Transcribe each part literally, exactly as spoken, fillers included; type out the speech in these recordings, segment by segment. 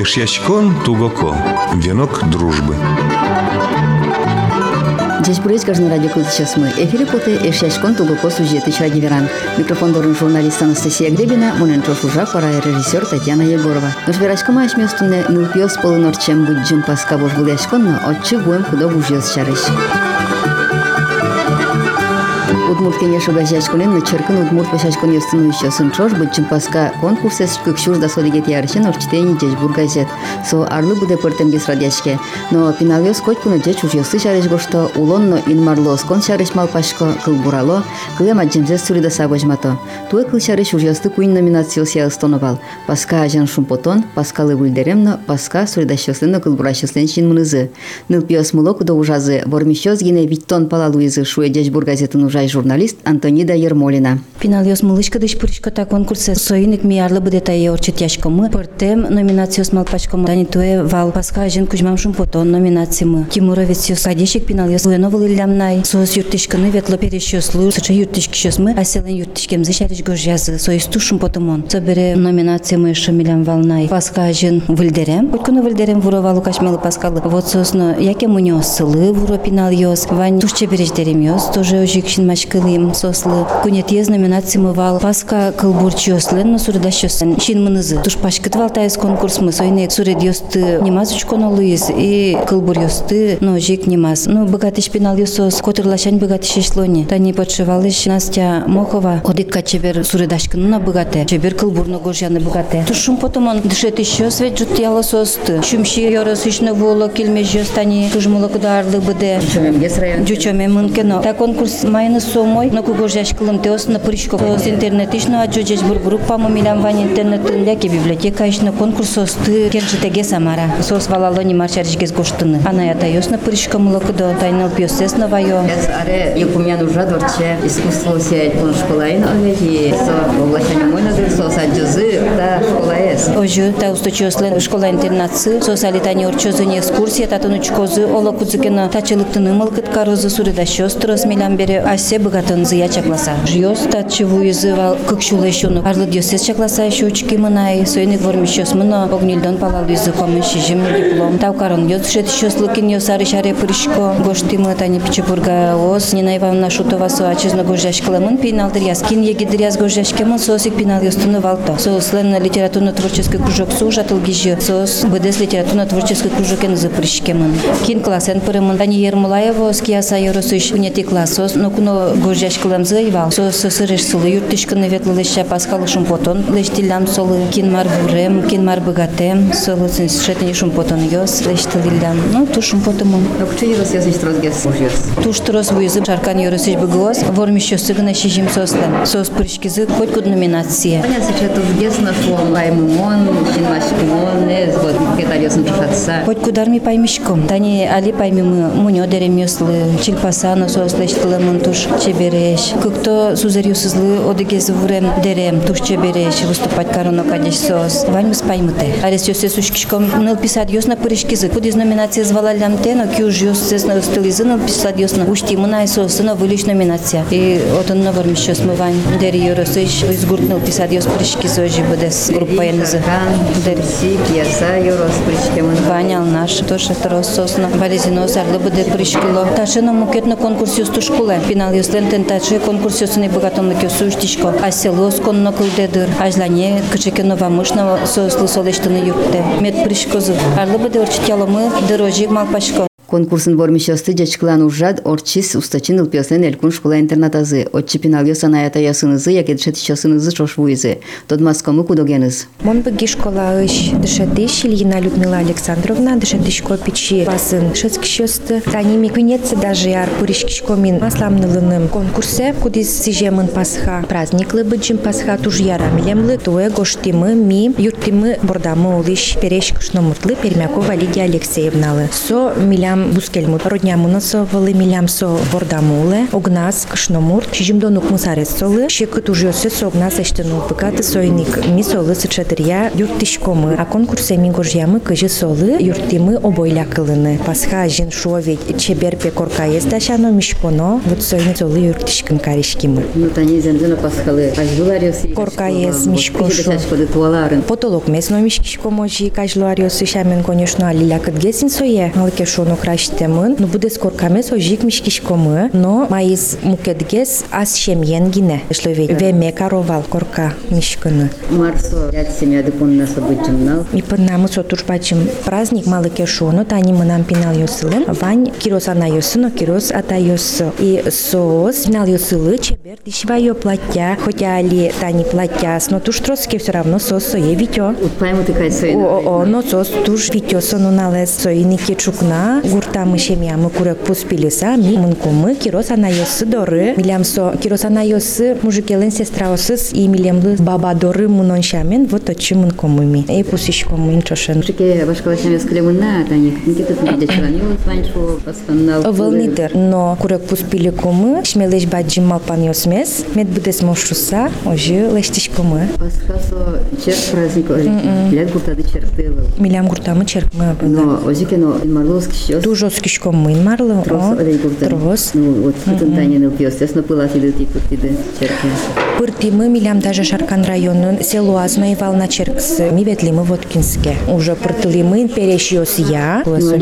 Эшьячкон тугоко. Венок дружбы. Здесь будет каждый радио сейчас мы. Эфире поты Эшьячкон тугоко сюжеты Чагиверан. Микрофон дорын журналист Анастасия Гребина, монентро шужа пора режиссер Татьяна Егорова. Наш верашкама ашместунне нылпиос полунорчем буджим паска божгулешконно отчи буем худо бужьёс чарыш. Удмурт кенешу газячкунен на черкан удмурт пашачкун ёстынующа сынчош буджим паска конкурсес кыкшур да содигет ярышен орчитени жежбур газет. Со арлы буде пыртемгес радяшке. Но пиналёс котькуно жеч ужёсы чарыш гошто улонно инмарлос кон чарыш малпашко кылбурало кылем аджемзес сурида сабожмато. Туе кыл чарыш ужёсты куин номинациося ыстоновал. Паска ажан шумпотон, паскалы вульдеремно, паска суридащосленно кылбуращослен чин мынызы. Нылпиос мулоку да ужазы вормищёс гине виттон палалуизы шуе жежбур газетін ужай журналист Антонида Ермолина. Пиналёс мылышка дыш пырышкота конкурсе соиник миарлы будета е орчит яшкомы. Пыртем номинациос малпачкомы. Дани туе вал паска ажен кужмам шумпотон номинациямы. Тимуровец ёс кадешек пиналёс уеновыл илямнай. Соос юртышканы ветло перещёслу. Сыча юртышкищёсмы. Аселен юртышкемзы шарыш гожязы. Соисту шумпотомон. Собере номинациямы шамилям валнай. Паска ажен выльдерем. Хотькуны выльдерем вуровалу кашмалы паскалы. Вот сосно яке мунёсылы вуро пиналёс. Вань тушче береждерем ёс. Тоже ожикшин мачкылым сослы. Кунетез номинациямы вал. Паска кылбурчёслен, но сурдащёслен. Шин мынызы. Туш пашкыт валтайыз конкурсмы. Сойнек суред ёсты немаз учконолуиз. И кылбур ёсты, но жик немаз. Ну, богатыш пинал ёсос. Котырлашань богатыш ешлони. Тани подшивалыш Настя Мохова. Одикка чебер суредашкынына богате. Чебер кылбурно гожяны богате. Тушум потом он дышет еще свет жут ялососты. Шумши ёрос ишны воло килмеш ёстани. Тужмуло кударлы быде. Жучоме мынкено. Та конкурс майны сомой. Но кугожяш кылым теос на пришко. С интернетишно аджоджеш бургруппа мумилям вань интернетін ляке библиотека ишны конкурсосты. Кержитеге Самара. Сос валалони марчаришгез гоштыны. Анаята ёсна пришко мулокудо. Тайнал пьёсес новайо. Аре юкумян уже дворче искусство сеять пон школаин олеги. Со облачание мойна дыр со саджызы та школаес. Ожу та усточослен школа интернатсы. Со салитани орчозыни экскурсия татунучкозы олокудзыкена тачылыктыны мылкыт карозы суридащёс трос милям бере асе богатынзы я чакласа. Жьёс татчеву изывал кыкшула ещёну. Арлы дёсес чакласа ещё учки мынай. Сойник вормищёс мыно огнильдон палал изы комын шижим диплом. Тавкарон ёс шет ещёс лыкин ёсары шаре прышко. Гоштымы тани Печепурга ос. Нина Ивановна Шутова со ачезно гожашкалымын пейналдыр яскин егидыр яз гожашкемын сосик пейнал ёстыны валто. Сослен литературно-творческий кружок су жатылгижи. Сос бдс литературно-творческий кружок ен запрышкемын. Кин классен пырымын. Тани Ермолаева скияса ёросыш унети классос. Но куно гожашкалымзы ивал. Сос сосырыш сылы юртышкыны ветлылыша паскалы шумпотон. Лештилям солы кин мар вурем, кин мар богатем. Солы шетни шумпотон ёс. Лештилям. Ну, ту шумпотомон. Рокчы ёрос ясыш трозгес ужёс. Туш трос вуйзы шаркан ёросыш быгос. Вормищёсы гына шижим сослем. Сос прышкизы хоть куд номинация. Понятно, что это гес нашло лаймумон, кинмашкумон, нез вот кетарёсын чушатса. Хоть кудар ми паймишком. Тани али паймимы мунё дерем ёслы. Чилпасано сослештылымын туш чебереш. Кыкто сузерюсызлы одыгез вурем дерем туш чебереш. Выступать кароно кадеш сос. Ваньмыс паймыте. Арес ёсес ушкишком ныл писать ёсна прышкизы. Куд из номинации звалалям тено кюж ёсес на стылизы ныл писать ёсна. Ушти мына и сосына вылиш номинация. И отон на вормищёс мы вань дери ёросыш изгуртныл писать ёс прышкизы ожи бдес группа янызы. Дерси, пьеса ёрос прышкемын. Ванял наш тоже трос сосна. Валезино сарлы бде прышкило. Ташина мукетно конкурс ёсту школе. Пинал ёслен тентачы конкурс ёсыны богатонлык ёсу уштишко. А село сконно кылдедыр. Ажлане кычекено вамышна сослы солештыны юртте. Мед прышкозы. Арлы бде орчитяломы дорожик малпашко. Конкурсын вормищёсты жачкылан ужад орчис устачин ылпёслен элькун школа интернатазы. Отчи пинал ёсана ята ясынызы, яке дышетищёсынызы шошвуизы. Тодмаскомы кудогеныз. Мон быги школа ыш дышетыш Ильина Людмила Александровна дышетышко печи басын дышетскищёсты. За ними квинецы даже яр пуришкишкомин масламнылыным конкурсе, кудис сижемын пасха праздниклы быджим пасха туж ярамилемлы туэ гоштимы ми юртимы бордамы улыш перешкышно муртлы Пермякова Лидия Алексеевналы. Со милям милям бускельмут. Роднямуна со вали милям со бордамуле. Огнас кшномурт. Шижимдонук мусарес солы. Шекут ужёсе со огнас эштену пыкаты сойник. Ми солы сычатырья юртишкомы. А конкурсе мигожьямы кыжы солы юртимы обойля кылыны. Пасха жин шовет чеберпе коркаес дашано мишконо. Вот сойни солы юртишкин каришкимы. Ну тани зензена пасхалы. Ажлуариосы. Коркаес мишкошу. Туаларын. Потолок месно мишкишко можи кажлуариосы шамен конечно алиля кытгесин сое. Малке шоно краштемын. Ну буде скоркаме сожик мишкишкомы. Но маис мукетгес ас шемьенгине. Шловет. Веме каровал корка мишкыны. Марсо ряд семья дыпонна событимнал. И под нами сотурбачим праздник малке шоно. Тани мы нам пинал йосылын. Вань кирос ана йосыно кирос ата йосо. И соос пинал йосылы чебер дишвайо платья. Хотя али тани платья. Но туш троски все равно соос сое витё. Утпаему тыкай соина. О, о, но соос туш витё сону налез соиники чукна. Гурта мы шемья мы курек пуспилиса. Ми мынкомы кирос ана йосы доры. Милям со кирос ана йосы мужикелен сестра осыз и милемлы баба доры мунон шамен. Вот очи мынкомы ми. И пусишкомы инчошен. Мужике башкалашаме склемына. Тани никитет медячарани ванчу пасханнал. Волнитер, но курек пуспили комы. Шмелеш баджим малпан йосмес. Мед будес мошуса. Ожи лештишкомы. Пасхасо черт праздник ожики. Лет гуртады черты был. Милям гуртамы черкмы. Но ожики, но марловский щас. Дуже скишкомы марлы. Трос олей гуртады. Трос. Ну вот кытын тани ныл пьёс. Ясно пыла тиды типа тиды черки. Пыртимы милям даже Шаркан районын село Азно и Вална Черксы. Ми ветлимы Воткинске. Уже пыртылимы перешьёс я.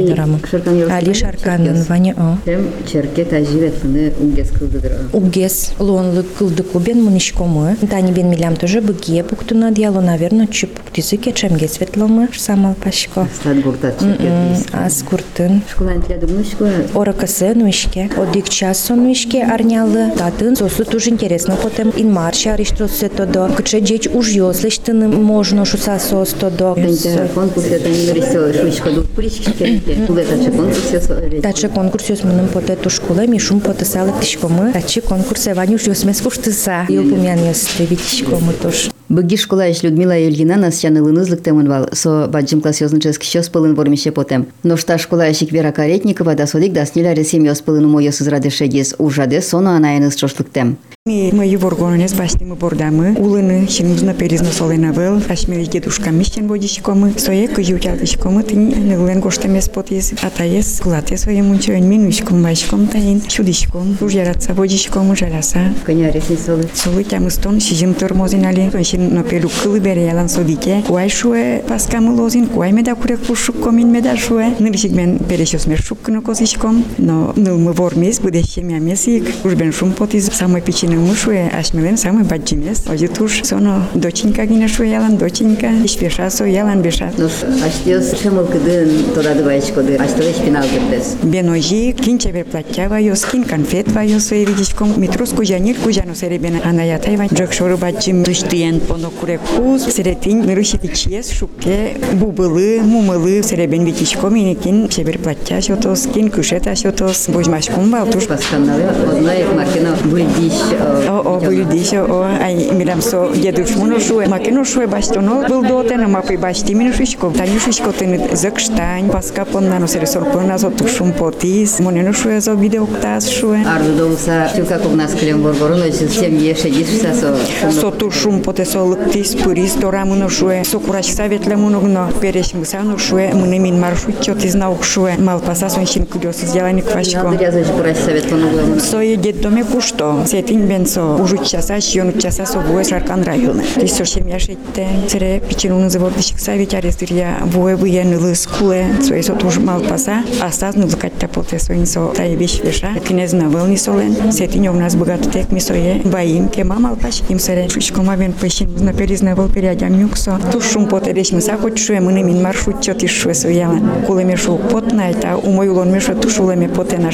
Али Шарканын Ваня о. Тем черке тажи ветлыны угес кылдыдыра. Угес лонлы кылды кубен мунишкомы. Тани бен милям тоже быге пуктуна диалу, наверное, чуп пуктизы кечемге светломы. Самал пашко. Стат гуртат черке. Аз куртын. Школан тляду мнушко. Оракасы нуишке. Одик час нуишке арнялы. Татын сосу тоже интересно. Потом ин марша ариштросы тодо. Кыче джеч уж ёслыштыны можно шуса сос тодо. Конкурс это не нарисовал. Шучка дух прички. Куда таче конкурс ёс. Таче конкурс ёс мыным поте ту школы мишум поте салы тишкомы. Таче конкурс ванюш ёс мес куштыса. Юпумян ёс теви тишкомы тоже. Быги школаеш Людмила Юльгина нас чанылын ызлыктемын вал, со баджим класс ёзнычески щёс пылын вормище потем. Но шта школаешик Вера Каретникова да содик да сниля ресим ёс пылын умо ёс израдешегис, ужаде соно анаен из чошлыктем. Мы его горгонес баснемы бордамы, улыны, щенузна перизна солена вел, ашмели дедушка мищен водичкомы, сое кыютялышкомы, тын нылен гоштемес потез, атаес, кулате своем унчоен минуишком, вайшком таин, чудишком, уж яратса водичкомы жараса. Коня ресни солы. Солы тямыстон, щизим тормозинали, тонщин напелу кылы береялан содике, куай шуэ паскамы лозин, куай меда курек пушуккомин меда шуэ, нылшикмен перешёс мершуккыны козишком, но нылмы вормес, будещем ямесик, уж бен шум потез, самой печи мушуе, ашмелен самый баджимес. Ози туш соно доченька гина шуялан, доченька, ишпеша соялан беша. Ну, аштиос шемол кыдын тода дываечко дыр, аштовеш пинал кырдес. Беножи, кинче бер платья вайос, кин конфет вайос, и видишком, метрус кужанир, кужану серебена, анаята ива, джокшору баджим, тыштыен поно курекуз, серетин, нырышити чиес, шуке, бубылы, мумылы, серебен видишком, иникин, шебер платья шотос, кин кушета шотос, божмашком балтуш. Пасканалы, одна их маркина бульдищ. О, о, бульдищ, о, ай, мирам со, дедуш мунушуе, макинушуе баштоно, был дотен, мапы башти минушишко, танюшишко тен закштань, паска поннано сересор понназо тушум потис, моненушуе за видеоктаз шуе. Арду доуса, тюка ког нас клем боргороно, всем еше дишса со. Со тушум потесо лыктис, пурис, тора мунушуе, со кураш саветле мунугно, переш мусанушуе, мунемин маршутчо тизнаукшуе, мал пасасон шин кудёс сделани квашко. Надо рязать кураш совет понуглому. Сое деддоме кушто, сетин бенсо, ужу часа, шьону часа со буе Шаркан районы. Тисо шемяшетте, цере пичерун заводишек савич арестирия, буе буе нылы скуле, сое со туж мал паса, а стаз нылы катта поте соин со таебиш веша, кинез навылни солен, сетин у нас богат тек мисое, баим, кема мал паш, им сере, шучкома вен пыщин, на перизнавыл периодям юксо, тушум поте деш мыса хоть шуе, мынемин маршрут чотиш шуе сояла, кулеме шу пот найта, у мой улон мешу тушулеме поте на шуе.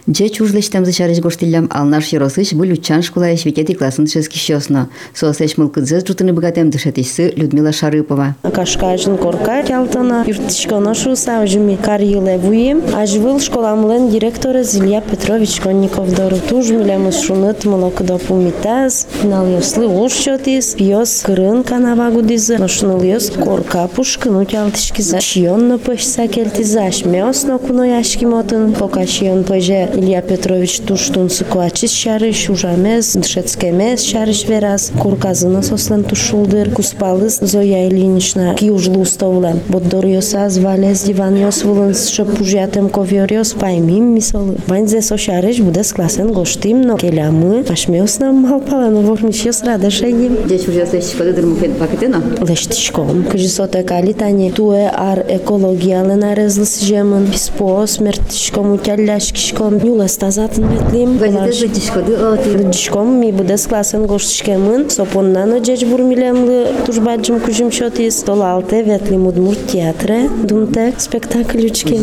Дже чужлештем зачарыш гоштилям алнаш еросыш был учан школа швекети классын шескищосно. Соосеш мылкыдзез жутыны богатем дышетишсы Людмила Шарыпова. Кашкажын корка ялтана юртышкона шуса ожими карьиле вуем. Ажвыл школамлен директора Илья Петрович Конников дору туж милемус шунет молокда пумитаз. Нал ёслы ушчотис пьёс кырын канавагудизы. Ношнул ёс корка пушкыну ялтышкиза. Шионно пышса кельтиза. Шмёсно куно яшки мотын. Пока шион пыже Илья Петрович туштун сыкуачис шарыш ужамез. Дышецкемез шарыш вераз. Корказына сослен тушулдыр. Куспалыз Зоя Ильинична киужлу стовлем. Боддор ёса звалез диван ёс вулын шапужятем ковёр ёс паймим мисолы. Ванзе со шарыш будес классен гоштим, но келямы ашмёс нам малпалану вормиш ёс радашеним. Дже чужлештем школы дырмуфет пакетена? Лештишком. Кыжисоте калитани туе ар экологиялы нарезлыс жемын. Писпо смертишком утяляшкишком. Юлес тазатын ветлим. Газете зыдишкоды оти. Дишком ми будес классен гоштишкемын. Сопоннано джеч бурмилемлы тужбаджым кужим шотис. Толалте ветлим удмур театре. Думте спектакль учки.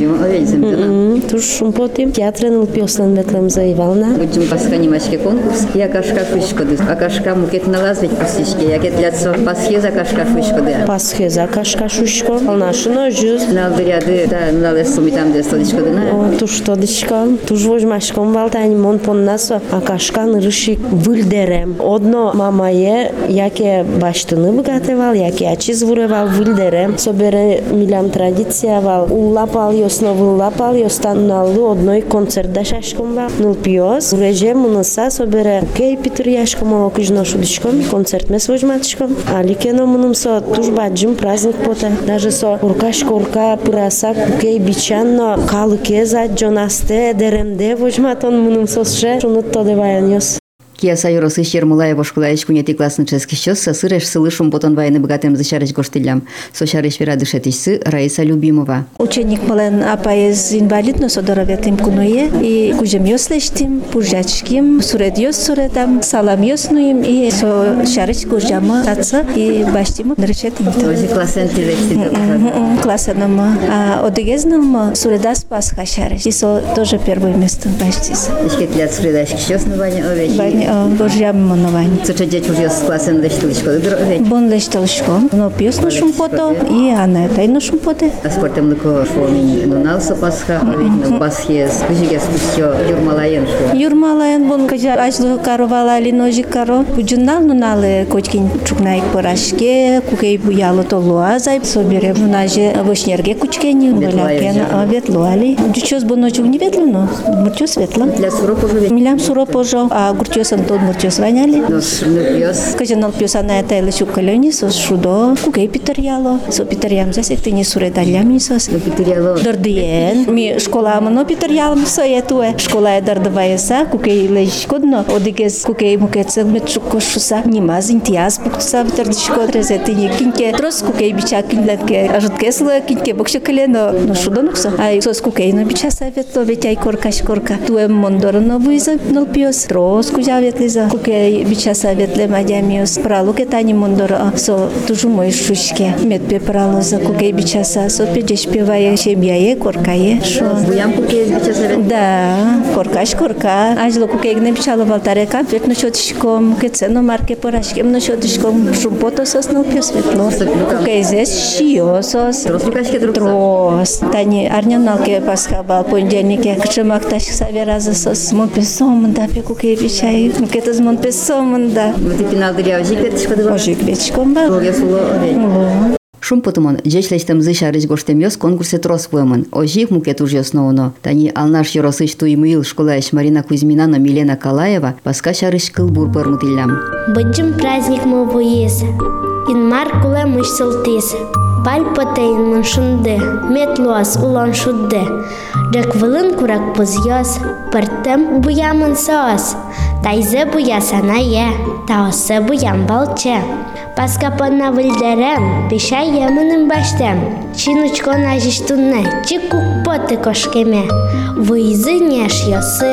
Туж шумпотим. Театрен лпиослен ветлем заивална. Будем пасханимашке конкурс. Я кашка фышкоды. А кашка мукет налазвить пасишке. Я кет ляцо пасхе за кашка фышкоды. Пасхе за кашка шушко. Алнашыно жүз. Налдыряды да налес сумитам дестодишкоды на. Туж тодишком. Туж вожмашком валтани мон поннасо. А кашка нырышик выльдерем. Одно мамае яке баштыны богатевал, яке ачи звуревал выльдерем. Собере милям традиция вал. Уллапал ёсно выллапал ёстанналлы одной концерт дашашком вал. Нылпиос. Уреже мыныса собере кей питер яшком окыжно шудишком. Концерт мес вожматышком. Аликено мынымсо туж баджым праздник поте. Даже со уркаш корка пыраса кей бичанно калыке за джонасте деремде вожматон мынымсо ше шунут тодеваян ёс. Кияса юросыш Ермолаева школаеш кунети классный ческищёс сосыреш сылышум потон вайны богатым зачарыш гоштилям. Сошарыш вера дышетишсы Раиса Любимова. Ученик мален апаез инвалидно содороветим куное и кужем ёслештим, пужачким, сурет ёс суретам, салам ёснуим и со шарыш кужама таца и баштиму нречетим. Ози классен тирексида. Классеном, а одегезном суредас пасха шарыш. И со тоже первое место баштис. Ишкет лят суредашки щёс на ваня овечи. Божья моновань. Соча дже чужлес классен лештилышко дыр овечи. Бон лештилышко. Но пьёс на шумпото и она тай на шумпоте. А спортем лыко швомин нуналса пасха овечи. Пасхе с кыжигес пустё Юрмалаен шво. Юрмалаен бон кажа ажлы каровала ли ножик каро. Буджунал нуналы кочкин чукнайк порашке, кукей буялы толуа зай собере. Нунаже вышнерге кучкени, валякен ветлуали. Дючос бон ночук не ветлено, мурчо светло. Для суро пожове. Милям суро пожо, а гурчос антон мурчос ваняли. Нос нупьёс. Кажанал пьёсана это лишь укалёни со шудо, кукей питеряло. Со питерям засек ты не суредалям не сос. Питеряло. Дордиен. Ми школа мано питерялам со етуе. Школа дордаваеса, кукей лишь кодно. Одигес кукей мукецел метрукошуса. Нима зинтиаз буктуса питердишко трезети не кинке. Трос кукей бича кинлетке. Ажуткесла кинке бокшекалено. Но шудо нуксо. Ай сос кукей на бича саветло ветяй коркаш корка. Туе мондорно виза нолпиос. Трос кузя ветлиза. Кукей бича саветле мадямиос. Пралуке тани мондоро. Со тужу мой шушке. Медпе пралоза кукей бича са. Со педеш певае шебяе коркае. Шо. Буям кукей бича савет. Да, коркаш корка. Ажло кукей не бичало валтарека. Ветно шотишком. Кецено марке порашкем на шотишком. Шумпото сос нолпиос ветло. Кукей здесь шио сос. Трос лукашке друг. Трос. Тани арняналке пасхабал понедельнике. Кшемакташ савераза сос. Монпесом да пе кукей бичай. Кетаз монпесом да. Вот и финал дыря ожик ветишко дыва. Ожик ветишком ба. Логе суло овечи. Шум потумон, джечлештем зышарыш гоштем ёс конкурсе трос пуэмон. Ожик мукет уж ёсноуно. Тани алнаш ёросыш туимыил школаеш Марина Кузьмина, но Милена Калаева паска шарыш кылбур пырмутиллям. Быджым праздник мы буес. Инмар куле мыш сылтес. Баль потейн мын шунды. Метлуас улан шудды. Джек вылын курак пызьёс. Пыртым буямын соос. Тайзы буясана е. Таосы буям балче. Паска понна выльдерем. Пишай емыным баштем. Чинучко нажиштунне. Чикук поты кошкеме. Выйзы неш ёсы.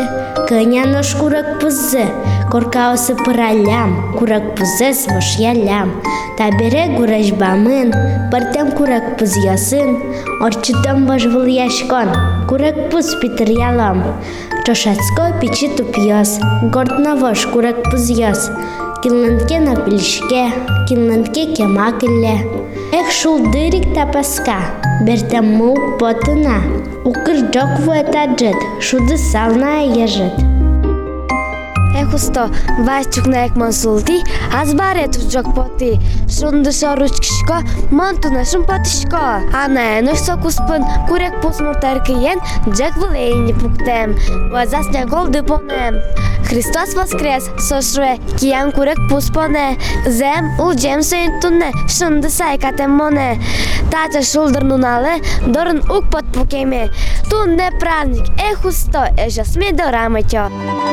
Кыня нож курак пузы, коркаусы пыралям, курак пузы свош ялям. Табере гурашбамын, партем курак пуз ясын, орчитам бажвыл яшкон, курак пуз питер ялам. Чошацко печи тупьёс, горд навош курак пуз яс. Килнантке на пельшке, килнантке кемакелле. Эх шул дырик тапаска, бертем мул потына. Укр джок вуэтаджет, шуды салная ежет. Ехусто, вайчук на екман султи, аз барету джок поти. Шунды шоручкишко, монту нашим потишко. А на енош сокуспын, курек пусмуртар киен, джек вылейни пуктем. Вазасня голды понем. Христос воскрес, сошруе, киян курек пуспоне. Зем, улджем сөйнтунне, шунды сайкатем моне. Тача шулдыр нуналы, дорын ук под пукеме. Тунне праздник, ехусто, эжа сме дорамытё.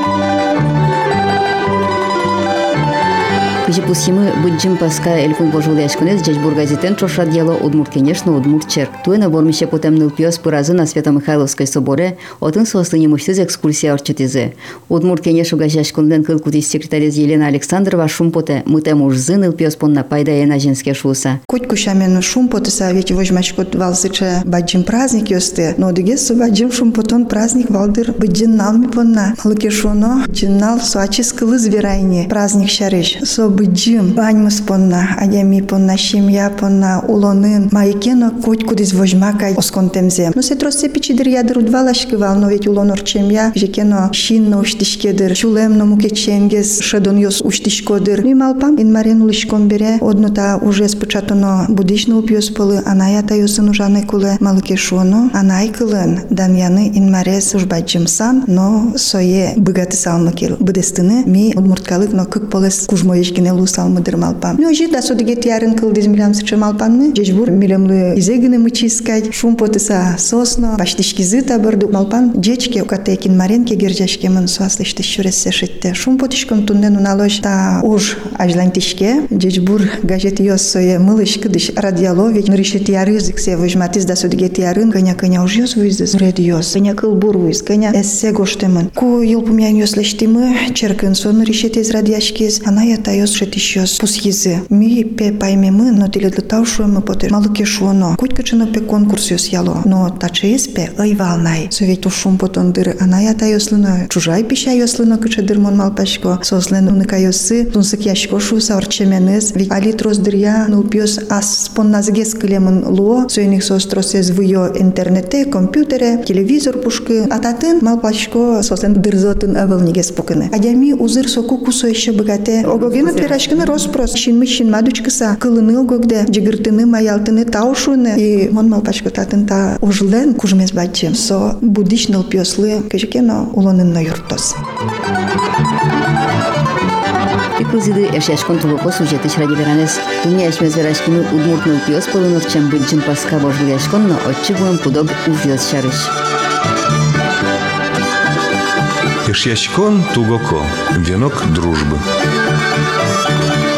Кыжи пусимы быджим паска эльфун божул яшкунез Джечбур газетен чоша дело удмурт, конечно, удмурт черк. Туена бормище потемныл пьёс пыразы на Свято-Михайловской соборе, отын сослыни мыштыз экскурсия орчетизе. Удмурт кенешу газяшкунден кылкутис секретарез Елена Александрова шумпоте мытем уж зыныл пьёс понна пайда ена женске шуса. Куть кушамен шумпоте совете возьмачкот валсыча баджим праздник ёсты, но дегесу баджим шумпотон праздник валдыр быджин налми понна. Лыкешуно джиннал суачис кылы зверайне праздник шарыш. Со быджим баньмыс понна, адями понна, семья понна, улонын, майкено куть кудис возьмакай осконтемзе. Но се троссе пичидыр ядыр удвалашкывал, но ведь улонор чемья, жекено шинно уштишкедыр, чулемно мукеченгес, шедон ёс уштишкодыр. Нималпам инмарен улышкон бере, однота уже спочатано будишно упьёс полы, анаята ёсын ужаны куле, малыкешуно, анай кылын, дамьяны инмарес уж баджим сан, но сое быгаты салмакил. Быдестыны ми удмурткалык, но кык полес кужмоечкин лу салмыдыр малпам. Ну, жид, да содыге тиярын кыл диз милям сычы малпанны, жежбур милемлы изегыны мычискать, шум потыса сосно, баштишки зыта бырду малпан, жечке укатекин маренке гержашкемын суаслышты шурессе шитте. Шум потышком туннен уналош та уж ажлантишке, жежбур газет ёс сое мылыш кыдыш радиалович, нырыше тиярызыксе выжматыз да содыге тиярын, кыня-кыня уж ёс вызыз, уред ёс, кыня кыл бур выз, кыня эссе гоштемын. Ку юлпумян ёслештимы, черкын сон нырышетез радиашкез, ана ята ёс шетищёс пусхизы. Ми пе паймемы, но теледлытаушуемы потыр малыкешуоно. Кутькачыно пе конкурс ёс яло, но тачеес пе ыйвалнай. Совет ушум потон дыр ана ята ёслыно, чужай пища ёслыно кычыдыр мон малпашко, сослен уныка ёсы, тунсык яшко шуса орчеменез, ведь алитрос дырья, нулпьёс ас спонназгес кылемын луо, сойных состросез выё интернете, компьютере, телевизор пушкы, ататын малпашко сослен дырзотын авылнигес пукыны. Адями узыр соку кусо ещё богате, огогена пирашкыны роспрос, шинмы шинмадучкыса, кылыны огогде, жигыртыны, маялтыны, таушуны, и мон малпашко татын та ужлен кужмез бачым, со будичныл пьёслы, кежекено улонынно юртос. Пикузиды эшяшкон тугоко сюжетыш ради веранес. Туния эшмез верашкины удмуртныл пьёс полынов чем быджим паска божгыл яшкон, но отчигуем пудог ужьёс шарыш. Ишьячкон тугоко, венок дружбы.